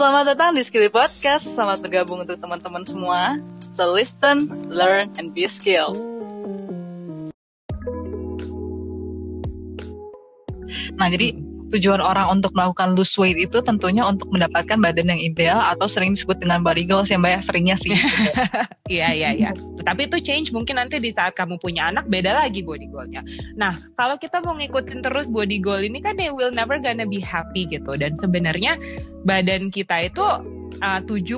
Selamat datang di Skilly Podcast. Selamat bergabung untuk teman-teman semua. So listen, learn, and be skilled. Nah, jadi tujuan orang untuk melakukan lose weight itu tentunya untuk mendapatkan badan yang ideal atau sering disebut dengan body goals ya Mbak ya, seringnya sih. Iya. Tapi itu change mungkin nanti di saat kamu punya anak beda lagi body goalnya. Nah, kalau kita mau ngikutin terus body goal ini kan they will never gonna be happy gitu. Dan sebenarnya badan kita itu 70%,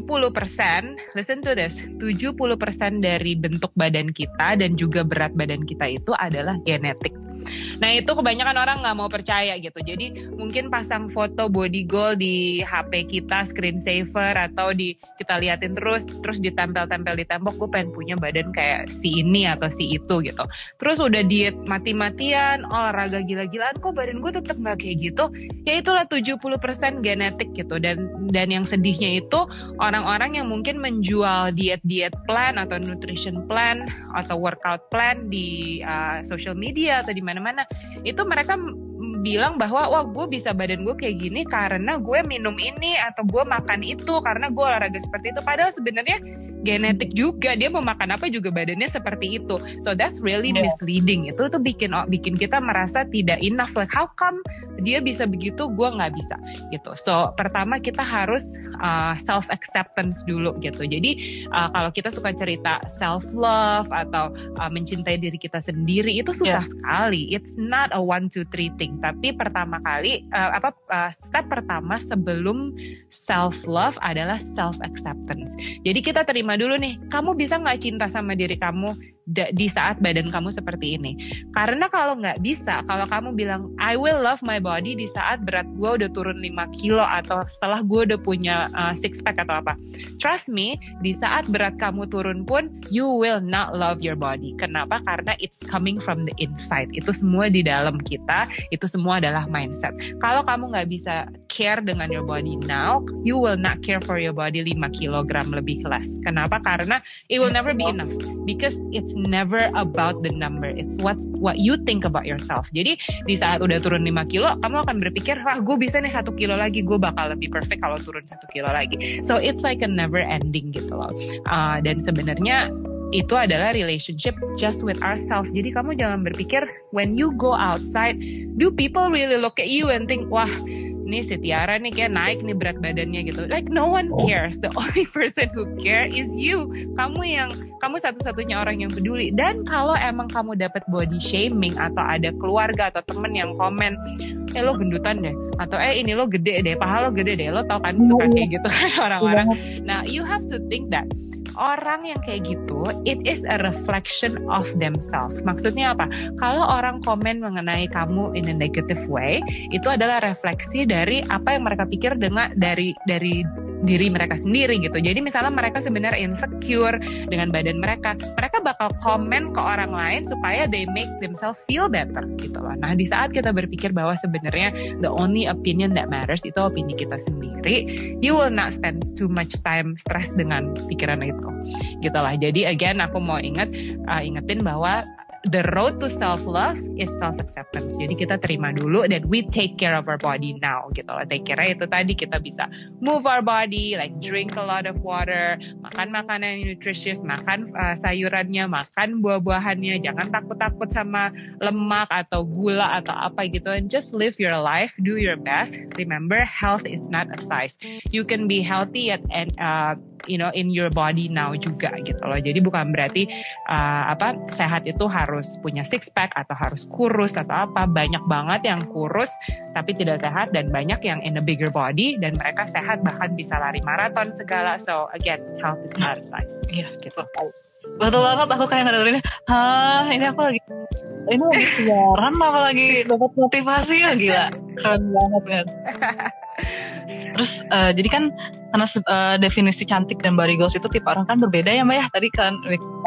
listen to this, 70% dari bentuk badan kita dan juga berat badan kita itu adalah genetik. Nah itu kebanyakan orang nggak mau percaya gitu. Jadi mungkin pasang foto body goal di HP kita, screensaver, atau kita liatin terus ditempel-tempel di tembok. Gue pengen punya badan kayak si ini atau si itu gitu. Terus udah diet mati-matian, olahraga gila-gilaan, kok badan gue tetap nggak kayak gitu. Ya itulah 70% genetik gitu. Dan yang sedihnya itu orang-orang yang mungkin menjual diet plan atau nutrition plan atau workout plan di social media atau di mana-mana, itu mereka bilang bahwa wah gue bisa badan gue kayak gini karena gue minum ini atau gue makan itu karena gue olahraga seperti itu, padahal sebenarnya genetik juga, dia mau makan apa juga badannya seperti itu. So that's really misleading. Itu tuh bikin kita merasa tidak enough, like how come dia bisa begitu gue nggak bisa gitu. So pertama kita harus self acceptance dulu gitu. Jadi kalau kita suka cerita self love atau mencintai diri kita sendiri itu susah sekali. It's not a 1, 2, 3 thing. Tapi pertama kali step pertama sebelum self love adalah self acceptance. Jadi kita terima dulu nih, kamu bisa nggak cinta sama diri kamu di saat badan kamu seperti ini? Karena kalau nggak bisa, kalau kamu bilang I will love my body di saat berat gue udah turun 5 kilo atau setelah gue udah punya six pack atau apa, trust me, di saat berat kamu turun pun you will not love your body. Kenapa? Karena it's coming from the inside. Itu semua di dalam kita, itu semua adalah mindset. Kalau kamu nggak bisa care dengan your body now, you will not care for your body 5 kilogram lebih less. Kenapa? Karena it will never be enough because it's never about the number, it's what you think about yourself. Jadi di saat udah turun 5 kilo, kamu akan berpikir, wah gue bisa nih 1 kilo lagi, gue bakal lebih perfect kalau turun 1 kilo lagi. So it's like a never ending gitu loh. Dan sebenarnya itu adalah relationship just with ourselves. Jadi kamu jangan berpikir when you go outside, do people really look at you and think, wah ini si Tiara nih kayak naik nih berat badannya gitu. Like no one cares. The only person who care is you. Kamu satu-satunya orang yang peduli. Dan kalau emang kamu dapat body shaming atau ada keluarga atau temen yang komen, lo gendutan deh, atau ini lo gede deh, paha lo gede deh, lo tau kan suka kayak gitu orang-orang. Nah, you have to think that orang yang kayak gitu, it is a reflection of themselves. Maksudnya apa? Kalau orang komen mengenai kamu in a negative way, itu adalah refleksi dari apa yang mereka pikir dari diri mereka sendiri gitu. Jadi misalnya mereka sebenarnya insecure dengan badan mereka bakal komen ke orang lain supaya they make themselves feel better gitu loh. Nah di saat kita berpikir bahwa sebenarnya the only opinion that matters itu opini kita sendiri, you will not spend too much time stress dengan pikiran itu gitu lah. Jadi again aku mau ingetin bahwa the road to self-love is self-acceptance. Jadi kita terima dulu dan we take care of our body now gitu loh. Take care itu tadi kita bisa move our body, like drink a lot of water, makan makanan yang nutritious, makan sayurannya, makan buah-buahannya, jangan takut-takut sama lemak atau gula atau apa gitu. And just live your life, do your best. Remember, health is not a size. You can be healthy in your body now juga gitu loh. Jadi bukan berarti sehat itu harus punya six pack atau harus kurus atau apa. Banyak banget yang kurus tapi tidak sehat dan banyak yang in a bigger body dan mereka sehat bahkan bisa lari maraton segala. So again, health is not a size. Iya gitu. Betul banget, aku kayak ngadarin ini aku lagi siaran apa lagi dapat motivasi ya, gila keren banget kan. Terus jadi kan karena definisi cantik dan body goals itu tipe orang kan berbeda ya Mbak ya, tadi kan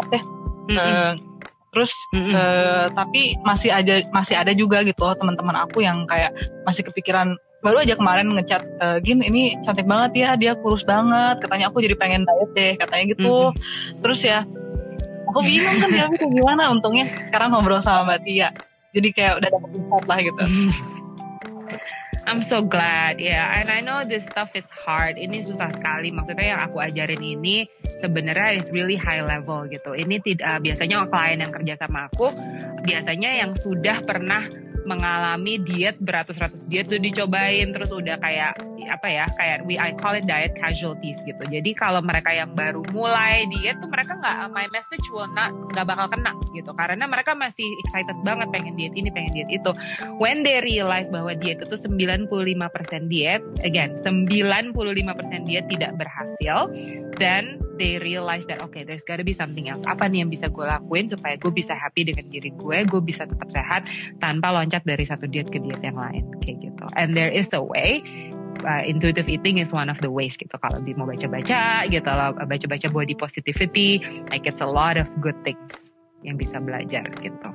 terus tapi masih ada juga gitu loh teman-teman aku yang kayak masih kepikiran, baru aja kemarin ngechat Gin ini cantik banget ya, dia kurus banget, katanya aku jadi pengen diet deh katanya gitu. Terus ya aku bingung kan dia kayak gimana. Untungnya sekarang ngobrol sama Mbak Tia, jadi kayak udah dapet insight lah gitu. I'm so glad, yeah. And I know this stuff is hard. Ini susah sekali. Maksudnya yang aku ajarin ini sebenarnya is really high level gitu. Ini tidak biasanya klien yang kerja sama aku biasanya yang sudah pernah mengalami diet beratus-ratus diet tuh dicobain terus udah kayak apa ya kayak I call it diet casualties gitu. Jadi kalau mereka yang baru mulai diet tuh mereka my message will nggak bakal kena gitu karena mereka masih excited banget pengen diet ini pengen diet itu. When they realize bahwa diet itu 95% diet, again 95% diet tidak berhasil, then they realize that okay, there's gotta be something else. Apa nih yang bisa gue lakuin supaya gue bisa happy dengan diri gue bisa tetap sehat tanpa loncat dari satu diet ke diet yang lain kayak gitu. And there is a way. Intuitive eating is one of the ways gitu. Kalau mau baca-baca gitu, baca-baca body positivity, like it's a lot of good things yang bisa belajar gitu.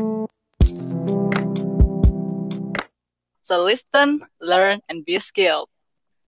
So listen, learn, and be skilled.